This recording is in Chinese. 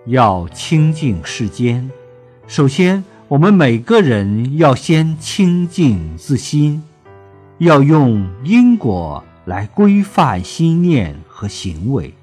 要清净世间，首先我们每个人要先清净自心，要用因果来规范心念和行为。